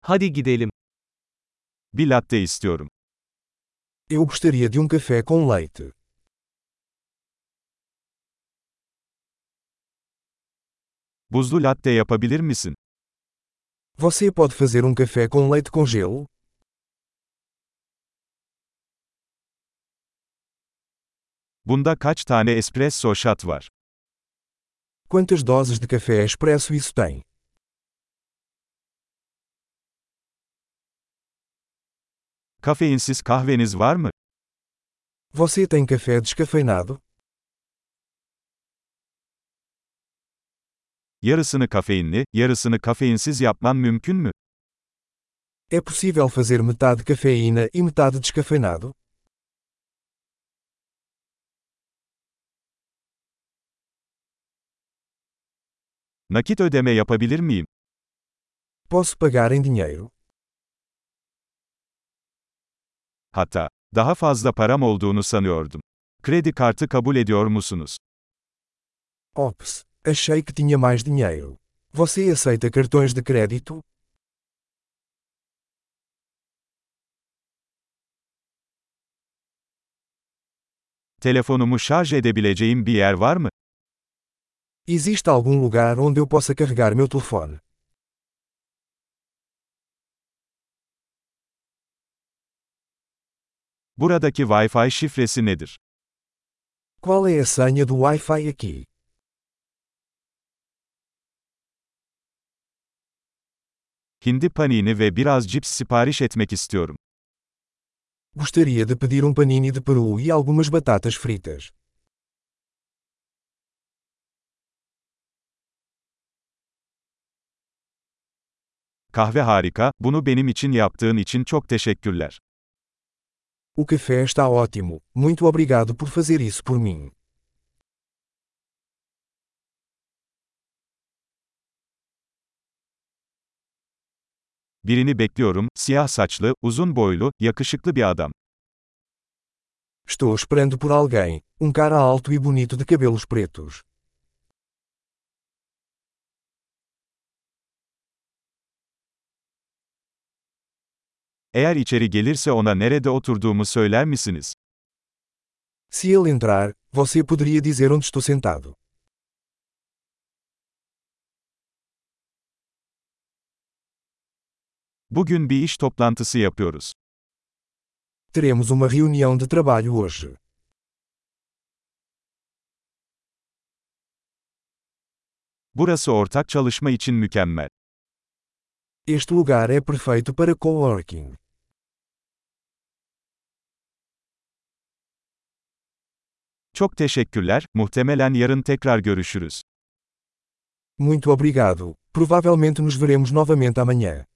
Hadi gidelim. Bir latte istiyorum. Eu gostaria de café com leite. Buzlu latte yapabilir misin? Você pode fazer café com leite com gelo? Bunda kaç tane espresso shot var? Quantas doses de café expresso isso tem? Kafeinsiz kahveniz var mı? Você tem café descafeinado? Yarısını kafeinli, yarısını kafeinsiz yapman mümkün mü? É possível fazer metade cafeína e metade descafeinado? Nakit ödeme yapabilir miyim? Posso pagar em dinheiro? Hatta, daha fazla param olduğunu sanıyordum. Kredi kartı kabul ediyor musunuz? Ops, achei que tinha mais dinheiro. Você aceita cartões de crédito? Telefonumu şarj edebileceğim bir yer var mı? Existe algum lugar onde eu possa carregar meu telefone? Buradaki Wi-Fi şifresi nedir? Qual é a senha do Wi-Fi aqui? Hindi panini ve biraz cips sipariş etmek istiyorum. Gostaria de pedir panini de peru e algumas batatas fritas. Kahve harika, bunu benim için yaptığın için çok teşekkürler. O café está ótimo, muito obrigado por fazer isso por mim. Birini bekliyorum, siyah saçlı, uzun boylu, yakışıklı bir adam. Estou esperando por alguém, cara alto e bonito de cabelos pretos. Eğer içeri gelirse ona nerede oturduğumu söyler misiniz? Se ele entrar, você poderia dizer onde estou sentado. Bugün bir iş toplantısı yapıyoruz. Teremos uma reunião de trabalho hoje. Burası ortak çalışma için mükemmel. Este lugar é perfeito para coworking. Çok teşekkürler, muhtemelen yarın tekrar görüşürüz. Muito obrigado. Provavelmente nos veremos novamente amanhã.